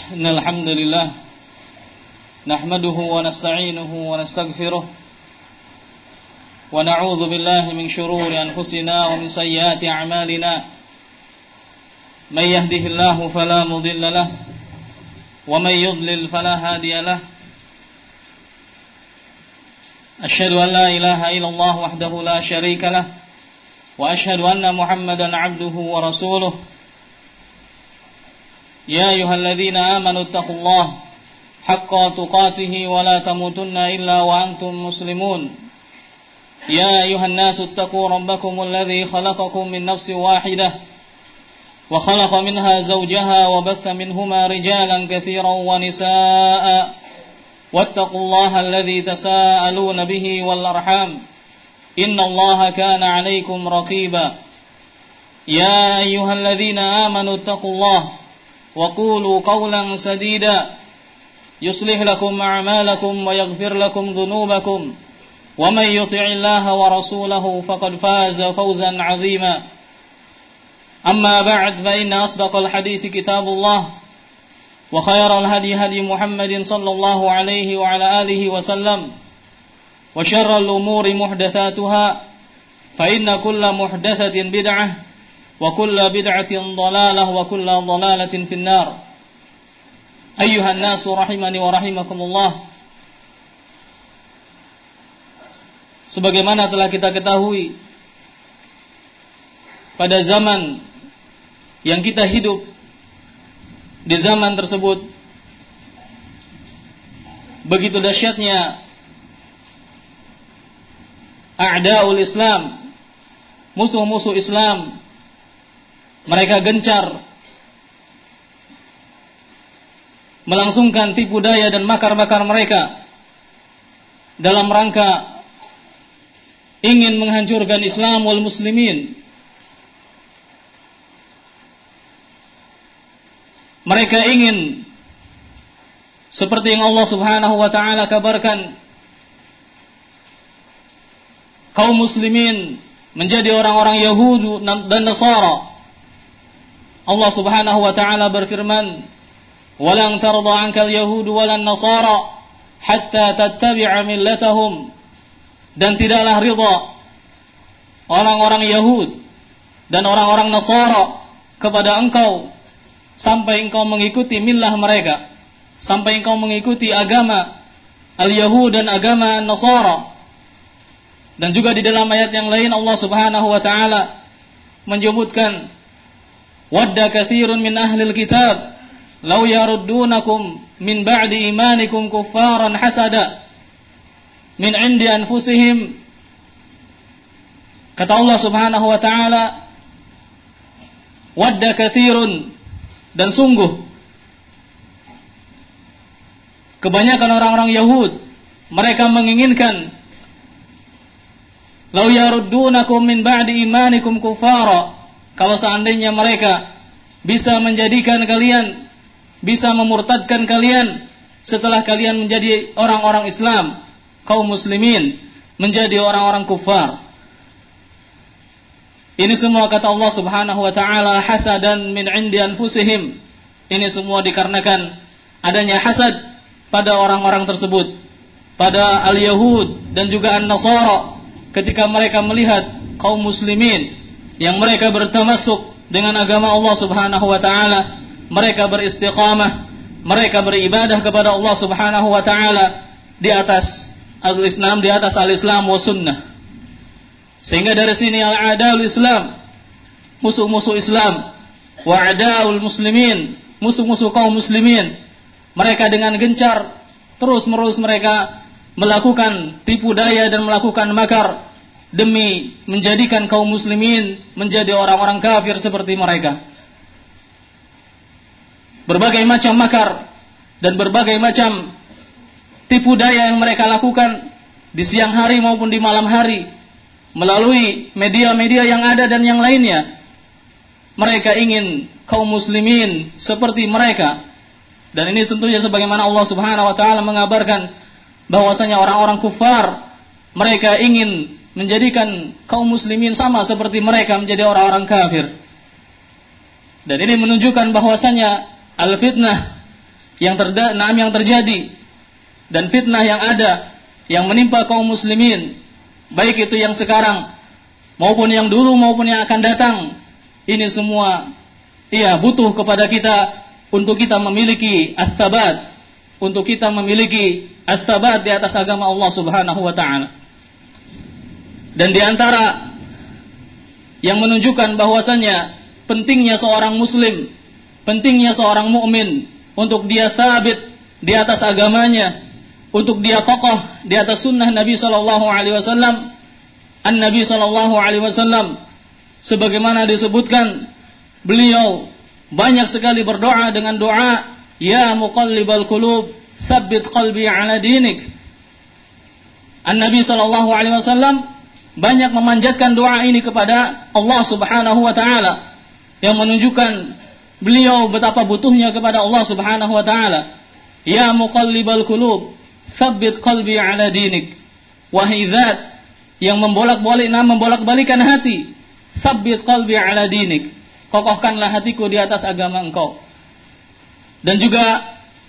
إن الحمد لله نحمده ونستعينه ونستغفره ونعوذ بالله من شرور أنفسنا ومن سيئات أعمالنا من يهده الله فلا مضل له ومن يضلل فلا هادي له أشهد أن لا إله إلا الله وحده لا شريك له وأشهد أن محمدا عبده ورسوله يا أيها الذين آمنوا اتقوا الله حق تقاته ولا تموتن إلا وأنتم مسلمون يا أيها الناس اتقوا ربكم الذي خلقكم من نفس واحدة وخلق منها زوجها وبث منهما رجالا كثيرا ونساء واتقوا الله الذي تساءلون به والأرحام إن الله كان عليكم رقيبا يا أيها الذين آمنوا اتقوا الله وقولوا قولا سديدا يصلح لكم أعمالكم ويغفر لكم ذنوبكم ومن يطع الله ورسوله فقد فاز فوزا عظيما أما بعد فإن أصدق الحديث كتاب الله وخير الهدي هدي محمد صلى الله عليه وعلى آله وسلم وشر الأمور محدثاتها فإن كل محدثة بدعة وكل بدعة ضلالة وكل ضلالة في النار أيها الناس رحمني ورحمكم الله. Sebagaimana telah kita ketahui, pada zaman yang kita hidup, di zaman tersebut begitu dahsyatnya a'daul Islam, musuh-musuh Islam. Mereka gencar melangsungkan tipu daya dan makar-makar mereka dalam rangka ingin menghancurkan Islam wal muslimin. Mereka ingin seperti yang Allah Subhanahu wa taala kabarkan, kaum muslimin menjadi orang-orang Yahudi dan Nasara. Allah Subhanahu wa taala berfirman, "Walan tarda 'ankal yahudu walan nasara hatta tattabi'a millatahum." Dan tidaklah ridha orang-orang Yahud dan orang-orang Nasara kepada engkau sampai engkau mengikuti millah mereka, sampai engkau mengikuti agama al-Yahud dan agama Nasara. Dan juga di dalam ayat yang lain Allah Subhanahu wa taala menyebutkan, wadda katsirun min ahlil kitab law yaruddunakum min ba'di imanikum kuffaran hasada min 'indi anfusihim. Kata Allah Subhanahu wa taala, wadda katsirun, dan sungguh kebanyakan orang-orang Yahud mereka menginginkan law yaruddunakum min ba'di imanikum kuffara, kalau seandainya mereka bisa menjadikan kalian, bisa memurtadkan kalian setelah kalian menjadi orang-orang Islam, kaum muslimin menjadi orang-orang kufar. Ini semua kata Allah Subhanahu wa taala hasadan min 'indi anfusihim. Ini semua dikarenakan adanya hasad pada orang-orang tersebut, pada al-Yahud dan juga an-Nasara, ketika mereka melihat kaum muslimin yang mereka bertamasuk dengan agama Allah Subhanahu wa taala, mereka beristiqamah, mereka beribadah kepada Allah Subhanahu wa taala di atas al-Islam, di atas al-Islam wa sunnah. Sehingga dari sini al-a'daul Islam, musuh-musuh Islam, wa a'daul muslimin, musuh-musuh kaum muslimin, mereka dengan gencar terus-menerus mereka melakukan tipu daya dan melakukan makar demi menjadikan kaum muslimin menjadi orang-orang kafir seperti mereka. Berbagai macam makar dan berbagai macam tipu daya yang mereka lakukan di siang hari maupun di malam hari melalui media-media yang ada dan yang lainnya. Mereka ingin kaum muslimin seperti mereka. Dan ini tentunya sebagaimana Allah Subhanahu wa taala mengabarkan bahwasanya orang-orang kufar mereka ingin menjadikan kaum muslimin sama seperti mereka menjadi orang-orang kafir. Dan ini menunjukkan bahwasanya al-fitnah yang terjadi dan fitnah yang ada yang menimpa kaum muslimin, baik itu yang sekarang maupun yang dulu maupun yang akan datang, ini semua butuh kepada kita untuk kita memiliki as-sabat, untuk kita memiliki as-sabat di atas agama Allah Subhanahu wa taala. Dan di antara yang menunjukkan bahwasanya pentingnya seorang muslim, pentingnya seorang mukmin untuk dia sabit di atas agamanya, untuk dia kokoh di atas sunnah Nabi sallallahu alaihi wasallam. An-Nabi sallallahu alaihi wasallam sebagaimana disebutkan, beliau banyak sekali berdoa dengan doa, ya muqallibal qulub, tsabbit qalbi ala dinik. An-Nabi sallallahu alaihi wasallam banyak memanjatkan doa ini kepada Allah Subhanahu wa taala, yang menunjukkan beliau betapa butuhnya kepada Allah Subhanahu wa taala. Ya muqallibal qulub, tsabbit qalbi ala dinik. Wahai zat yang membolak-balikan hati, tsabbit qalbi ala dinik, kokohkanlah hatiku di atas agama engkau. Dan juga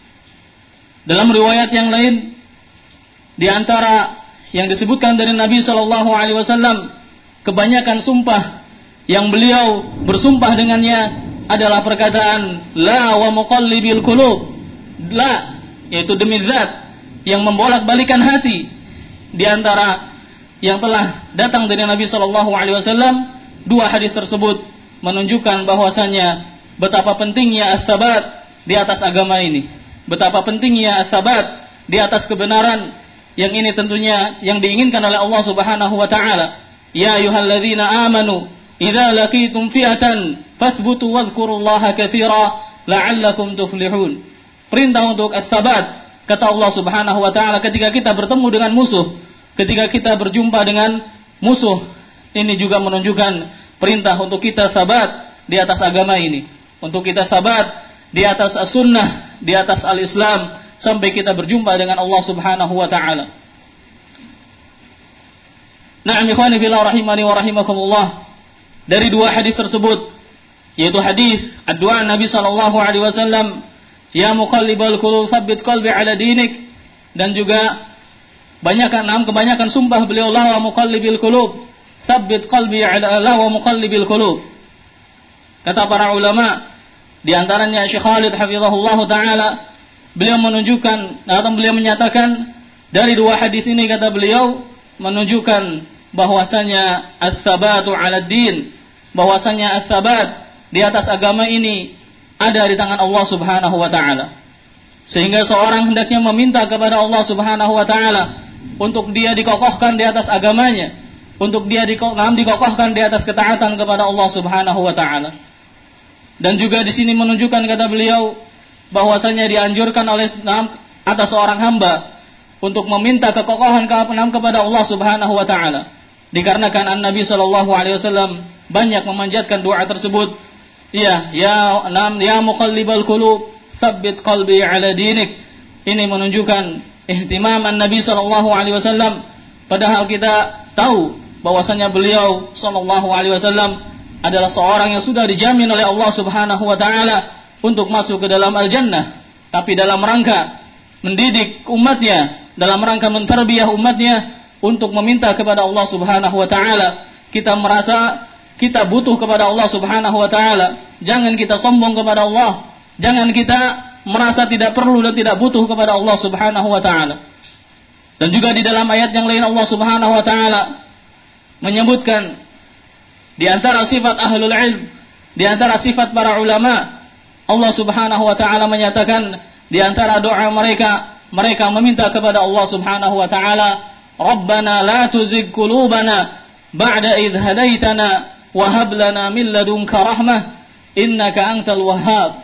dalam riwayat yang lain, di antara yang disebutkan dari Nabi sallallahu alaihi wasallam, kebanyakan sumpah yang beliau bersumpah dengannya adalah perkataan la wa muqallibil qulub, la, yaitu demi zat yang membolak-balikan hati. Di antara yang telah datang dari Nabi sallallahu alaihi wasallam, dua hadis tersebut menunjukkan bahwasanya betapa pentingnya as-sabat di atas agama ini, betapa pentingnya as-sabat di atas kebenaran, yang ini tentunya yang diinginkan oleh Allah Subhanahu wa taala. Ya ayyuhalladzina amanu idza laqitum fi'atan fasbutu wadhkurullaha katsira la'allakum tuflihun. Perintah untuk as-sabat, kata Allah Subhanahu wa taala, ketika kita bertemu dengan musuh, ketika kita berjumpa dengan musuh, ini juga menunjukkan perintah untuk kita sabat di atas agama ini, untuk kita sabat di atas as-sunnah, di atas al-Islam, sampai kita berjumpa dengan Allah Subhanahu wa taala. Na'am ikhwani fillah rahimani wa rahimakumullah. Dari dua hadis tersebut, yaitu hadis doa Nabi sallallahu alaihi wasallam, ya muqallibal qulub tsabbit qalbi ala dinik, dan juga kebanyakan sumpah beliau, la wa muqallibil qulub tsabbit qalbi ala la wa muqallibil qulub. Kata para ulama, di antaranya Syekh Khalid hafizahullah taala, beliau menunjukkan atau beliau menyatakan dari dua hadis ini, kata beliau, menunjukkan bahwasanya as-sabatu 'ala din, bahwasanya as-sabat di atas agama ini ada di tangan Allah Subhanahu wa taala. Sehingga seorang hendaknya meminta kepada Allah Subhanahu wa taala untuk dia dikokohkan di atas agamanya, untuk dia dikokohkan di atas ketaatan kepada Allah Subhanahu wa taala. Dan juga di sini menunjukkan, kata beliau, bahwasanya dianjurkan oleh atas seorang hamba untuk meminta kekokohan kepada Allah Subhanahu wa taala. Dikarenakan An-Nabi sallallahu alaihi wasallam banyak memanjatkan doa tersebut. Ya muqallibal qulub, tsabbit qalbi ala dinik. Ini menunjukkan ihtimam An-Nabi sallallahu alaihi wasallam, padahal kita tahu bahwasanya beliau sallallahu alaihi wasallam adalah seorang yang sudah dijamin oleh Allah Subhanahu wa taala untuk masuk ke dalam al-jannah, tapi dalam rangka mendidik umatnya, dalam rangka mentarbiyah umatnya untuk meminta kepada Allah Subhanahu wa taala, kita merasa kita butuh kepada Allah Subhanahu wa taala. Jangan kita sombong kepada Allah, jangan kita merasa tidak perlu dan tidak butuh kepada Allah Subhanahu wa taala. Dan juga di dalam ayat yang lain Allah Subhanahu wa taala menyebutkan di antara sifat ahlul ilm, di antara sifat para ulama, Allah Subhanahu wa taala menyatakan di antara doa mereka meminta kepada Allah Subhanahu wa taala, Rabbana la tuzigh qulubana ba'da idh hadaitana wa hab lana min ladunka rahmah innaka antal wahhab.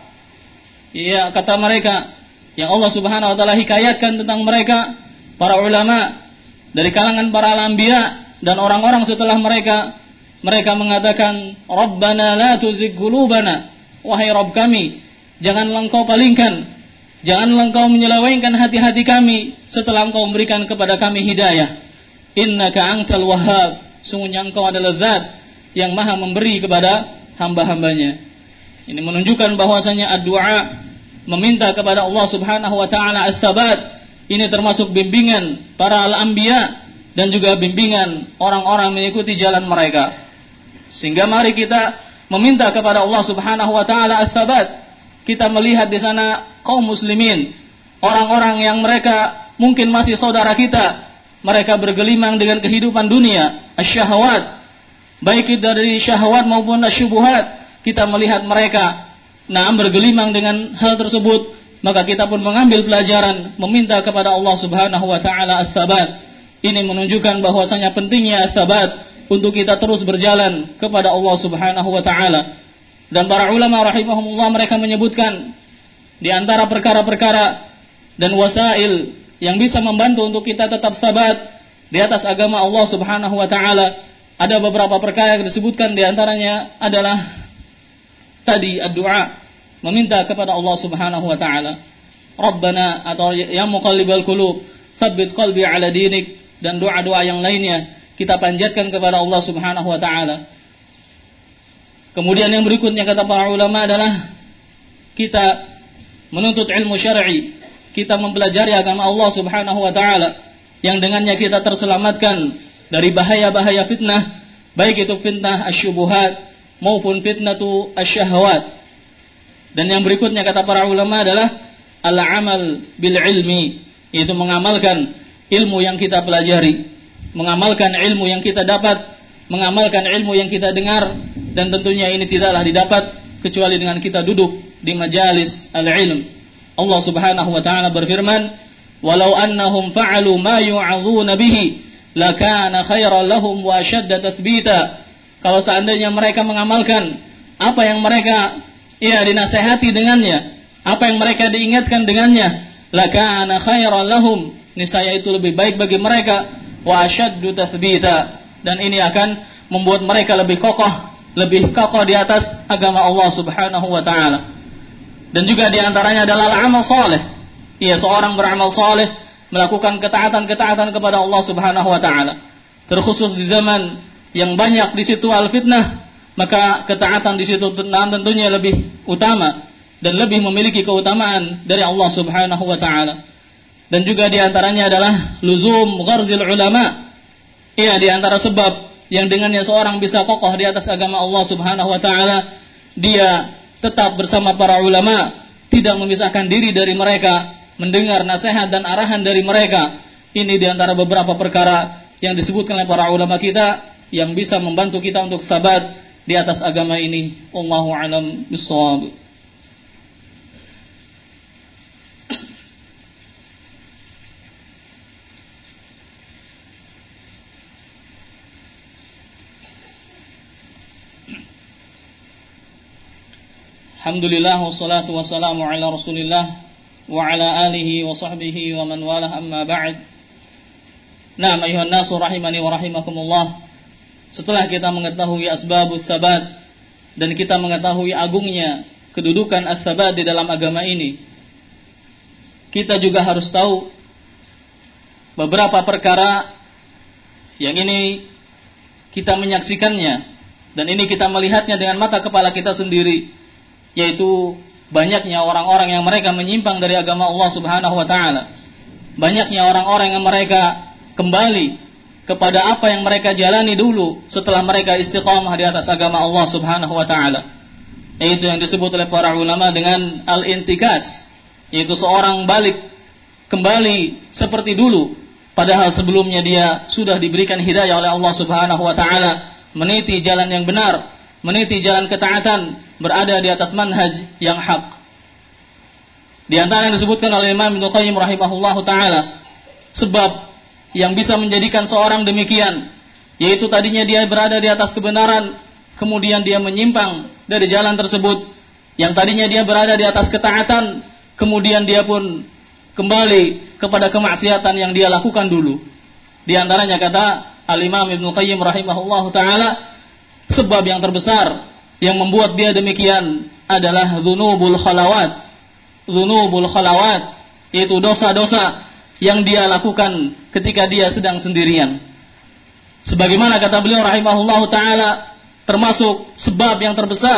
Ya, kata mereka yang Allah Subhanahu wa taala hikayatkan tentang mereka, para ulama dari kalangan para anbiya dan orang-orang setelah mereka mengatakan, Rabbana la tuzigh qulubana, wahai Rabb kami, janganlah engkau palingkan, janganlah engkau menyelewengkan hati-hati kami setelah engkau memberikan kepada kami hidayah. Innaka antal wahhab, sungguhnya engkau adalah zat yang maha memberi kepada hamba-hambanya. Ini menunjukkan bahwasanya ad-du'a meminta kepada Allah Subhanahu wa taala as-sabat. Ini termasuk bimbingan para al-anbiya dan juga bimbingan orang-orang mengikuti jalan mereka. Sehingga mari kita meminta kepada Allah Subhanahu wa taala as-sabat. Kita melihat di sana kaum muslimin, orang-orang yang mereka mungkin masih saudara kita, mereka bergelimang dengan kehidupan dunia, asy-syahwat, baik itu dari syahwat maupun asyubuhat. Kita melihat mereka bergelimang dengan hal tersebut, maka kita pun mengambil pelajaran, meminta kepada Allah Subhanahu wa taala as-sabat. Ini menunjukkan bahwasanya pentingnya as-sabat untuk kita terus berjalan kepada Allah Subhanahu wa taala. Dan para ulama rahimahumullah mereka menyebutkan di antara perkara-perkara dan wasail yang bisa membantu untuk kita tetap sabat di atas agama Allah Subhanahu wa taala, ada beberapa perkara yang disebutkan, di antaranya adalah tadi ad-du'a, meminta kepada Allah Subhanahu wa taala. Rabbana, atau ya muqallibal qulub, tsabbit qalbi ala dinik, dan doa-doa yang lainnya kita panjatkan kepada Allah Subhanahu wa taala. Kemudian yang berikutnya kata para ulama adalah kita menuntut ilmu syar'i, kita mempelajari agama Allah Subhanahu wa taala yang dengannya kita terselamatkan dari bahaya-bahaya fitnah, baik itu fitnah asyubuhat maupun fitnatu asyahwat. Dan yang berikutnya kata para ulama adalah al-amal bil ilmi, yaitu mengamalkan ilmu yang kita pelajari, mengamalkan ilmu yang kita dapat, mengamalkan ilmu yang kita dengar. Dan tentunya ini tidaklah didapat kecuali dengan kita duduk di majalis al-ilm. Allah Subhanahu wa taala berfirman, "Walau annahum fa'alu ma yu'adhuna bihi lakana khairan lahum wa ashadda tathbita." Kalau seandainya mereka mengamalkan apa yang mereka dinasihati dengannya, apa yang mereka diingatkan dengannya, lakana khairan lahum, niscaya itu lebih baik bagi mereka, wa ashaddu tathbita, dan ini akan membuat mereka lebih kokoh di atas agama Allah Subhanahu wa taala. Dan juga di antaranya adalah amal saleh. Seorang beramal saleh, melakukan ketaatan-ketaatan kepada Allah Subhanahu wa taala. Terkhusus di zaman yang banyak di situ al-fitnah, maka ketaatan di situ tentunya lebih utama dan lebih memiliki keutamaan dari Allah Subhanahu wa taala. Dan juga di antaranya adalah luzum gharzil ulama. Di antara sebab yang dengannya seorang bisa kokoh di atas agama Allah Subhanahu wa taala, dia tetap bersama para ulama, tidak memisahkan diri dari mereka, mendengar nasihat dan arahan dari mereka. Ini di antara beberapa perkara yang disebutkan oleh para ulama kita yang bisa membantu kita untuk sabat di atas agama ini. Wallahu a'lam bishawab. Alhamdulillah wassalatu wassalamu ala Rasulillah wa ala alihi wa sahbihi wa man walah, amma ba'd. Naam ayuhan nasu rahimani wa rahimakumullah. Setelah kita mengetahui asbabus sabat dan kita mengetahui agungnya kedudukan as-sabat di dalam agama ini, kita juga harus tahu beberapa perkara yang ini kita menyaksikannya dan ini kita melihatnya dengan mata kepala kita sendiri, yaitu banyaknya orang-orang yang mereka menyimpang dari agama Allah Subhanahu wa taala. Banyaknya orang-orang yang mereka kembali kepada apa yang mereka jalani dulu setelah mereka istiqamah di atas agama Allah Subhanahu wa taala. Yaitu yang disebut oleh para ulama dengan al-intikas, yaitu seorang balik kembali seperti dulu, padahal sebelumnya dia sudah diberikan hidayah oleh Allah Subhanahu wa taala, meniti jalan yang benar, meniti jalan ketaatan, berada di atas manhaj yang hak. Di antara yang disebutkan oleh Imam Ibnu Qayyim rahimahullahu taala, sebab yang bisa menjadikan seorang demikian, yaitu tadinya dia berada di atas kebenaran, kemudian dia menyimpang dari jalan tersebut. Yang tadinya dia berada di atas ketaatan, kemudian dia pun kembali kepada kemaksiatan yang dia lakukan dulu. Di antaranya kata Al-Imam Ibnu Qayyim rahimahullahu taala, sebab yang terbesar yang membuat dia demikian adalah dzunubul khalawat. Dzunubul khalawat, yaitu dosa-dosa yang dia lakukan ketika dia sedang sendirian. Sebagaimana kata beliau rahimahullahu taala, termasuk sebab yang terbesar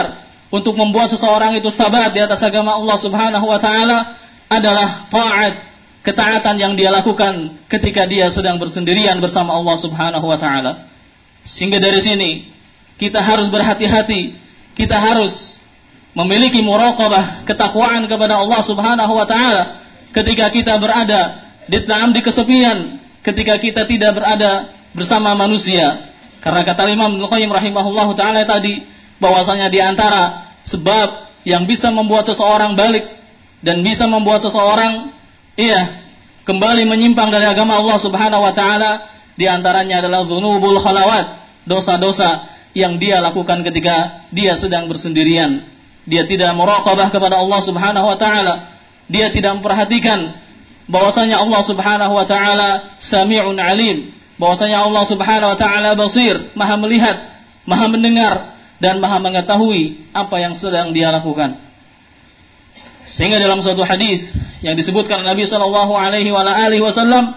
untuk membuat seseorang itu sabat di atas agama Allah Subhanahu wa taala adalah taat, ketaatan yang dia lakukan ketika dia sedang bersendirian bersama Allah Subhanahu wa taala. Sehingga dari sini kita harus berhati-hati, kita harus memiliki muraqabah, ketakwaan kepada Allah Subhanahu wa taala ketika kita berada di kesepian, ketika kita tidak berada bersama manusia. Karena kata Imam Ibnu Qayyim rahimahullahu taala tadi, bahwasanya di antara sebab yang bisa membuat seseorang balik dan bisa membuat seseorang kembali menyimpang dari agama Allah Subhanahu wa taala, di antaranya adalah dzunubul khalawat, dosa-dosa yang dia lakukan ketika dia sedang bersendirian. Dia tidak muraqabah kepada Allah Subhanahu wa taala, dia tidak memperhatikan bahwasanya Allah Subhanahu wa taala Sami'un Alim, bahwasanya Allah Subhanahu wa taala Basir, Maha melihat, Maha mendengar dan Maha mengetahui apa yang sedang dia lakukan. Sehingga dalam suatu hadis yang disebutkan Nabi sallallahu alaihi wasallam,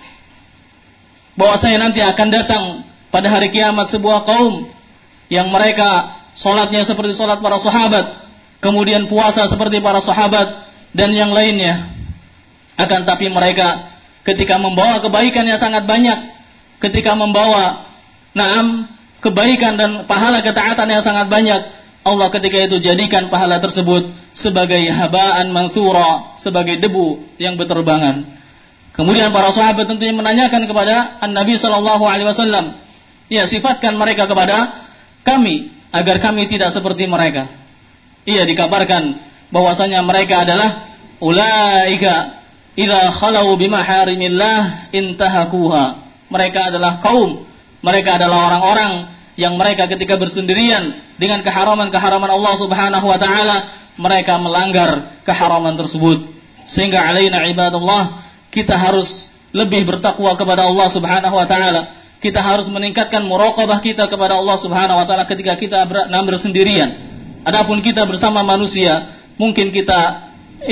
bahwasanya nanti akan datang pada hari kiamat sebuah kaum yang mereka salatnya seperti salat para sahabat, kemudian puasa seperti para sahabat dan yang lainnya. Akan tapi mereka ketika membawa kebaikan yang sangat banyak, ketika membawa kebaikan dan pahala ketaatan yang sangat banyak, Allah ketika itu jadikan pahala tersebut sebagai habaan mansura, sebagai debu yang berterbangan. Kemudian para sahabat tentunya menanyakan kepada Nabi sallallahu alaihi wasallam, sifatkan mereka kepada kami agar kami tidak seperti mereka. Dikabarkan bahwasanya mereka adalah ulaika idza khalau bimaharimillah intahakuha. Mereka adalah kaum, mereka adalah orang-orang yang mereka ketika bersendirian dengan keharaman-keharaman Allah Subhanahu wa taala, mereka melanggar keharaman tersebut. Sehingga alaina ibadallah, kita harus lebih bertakwa kepada Allah Subhanahu wa taala. Kita harus meningkatkan muraqabah kita kepada Allah Subhanahu wa taala ketika kita bersendirian. Adapun kita bersama manusia, mungkin kita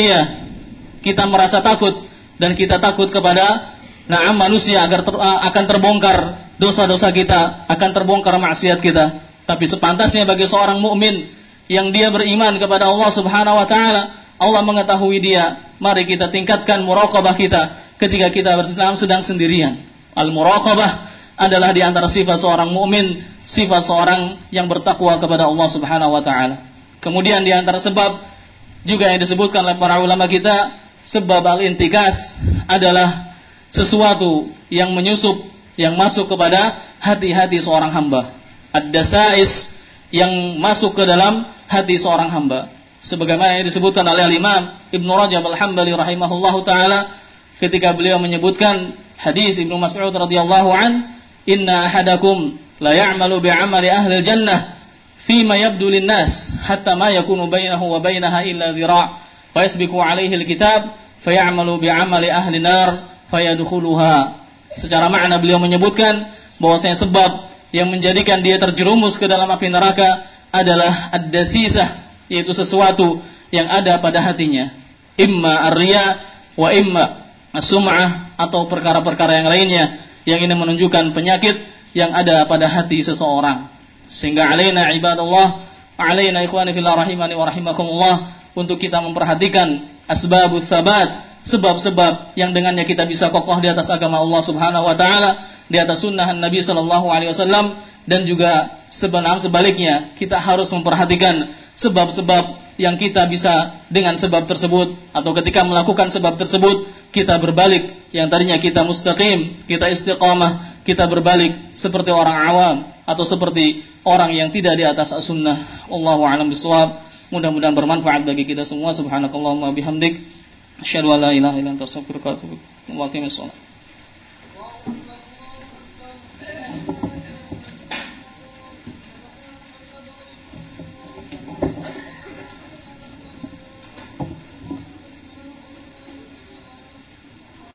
merasa takut dan kita takut kepada manusia akan terbongkar dosa-dosa kita, akan terbongkar maksiat kita. Tapi sepantasnya bagi seorang mukmin yang dia beriman kepada Allah Subhanahu wa taala, Allah mengetahui dia. Mari kita tingkatkan muraqabah kita ketika kita sedang sendirian. Al-muraqabah adalah di antara sifat seorang mukmin, sifat seorang yang bertakwa kepada Allah Subhanahu wa taala. Kemudian di antara sebab juga yang disebutkan oleh para ulama kita, sebab al-intikas adalah sesuatu yang menyusup, yang masuk kepada hati-hati seorang hamba. Ad-dasais yang masuk ke dalam hati seorang hamba. Sebagaimana yang disebutkan oleh Imam Ibnu Rajab Al-Hambali rahimahullahu taala ketika beliau menyebutkan hadis Ibnu Mas'ud radhiyallahu an, inna ahadakum la ya'malu bi'amali ahli al-jannah fima yabdu lin-nas hatta ma yakunu bainahu wa bainaha illa dhira' fa yasbiqu alaihi al-kitab fa ya'malu bi'amali ahli nar fayadkhuluha. Secara makna beliau menyebutkan bahwasanya sebab yang menjadikan dia terjerumus ke dalam api neraka adalah ad-dasisah, yaitu sesuatu yang ada pada hatinya, imma ar-riya wa imma as-sum'ah, atau perkara-perkara yang lainnya yang ini menunjukkan penyakit yang ada pada hati seseorang. Sehingga alaina ibadallah, alaina ikhwani fillah rahimani wa rahimakumullah, untuk kita memperhatikan asbabus sabat, sebab-sebab yang dengannya kita bisa kokoh di atas agama Allah Subhanahu wa taala, di atas sunnah Nabi sallallahu alaihi wasallam, dan juga sebaliknya kita harus memperhatikan sebab-sebab yang kita bisa dengan sebab tersebut, atau ketika melakukan sebab tersebut kita berbalik, yang tadinya kita mustaqim, kita istiqamah, kita berbalik seperti orang awam atau seperti orang yang tidak di atas as-sunnah. Wallahu a'lam bishawab. Mudah-mudahan bermanfaat bagi kita semua. Subhanakallahumma bihamdik, asyhadu an la ilaha illa anta astaghfiruka wa atubu ilaik.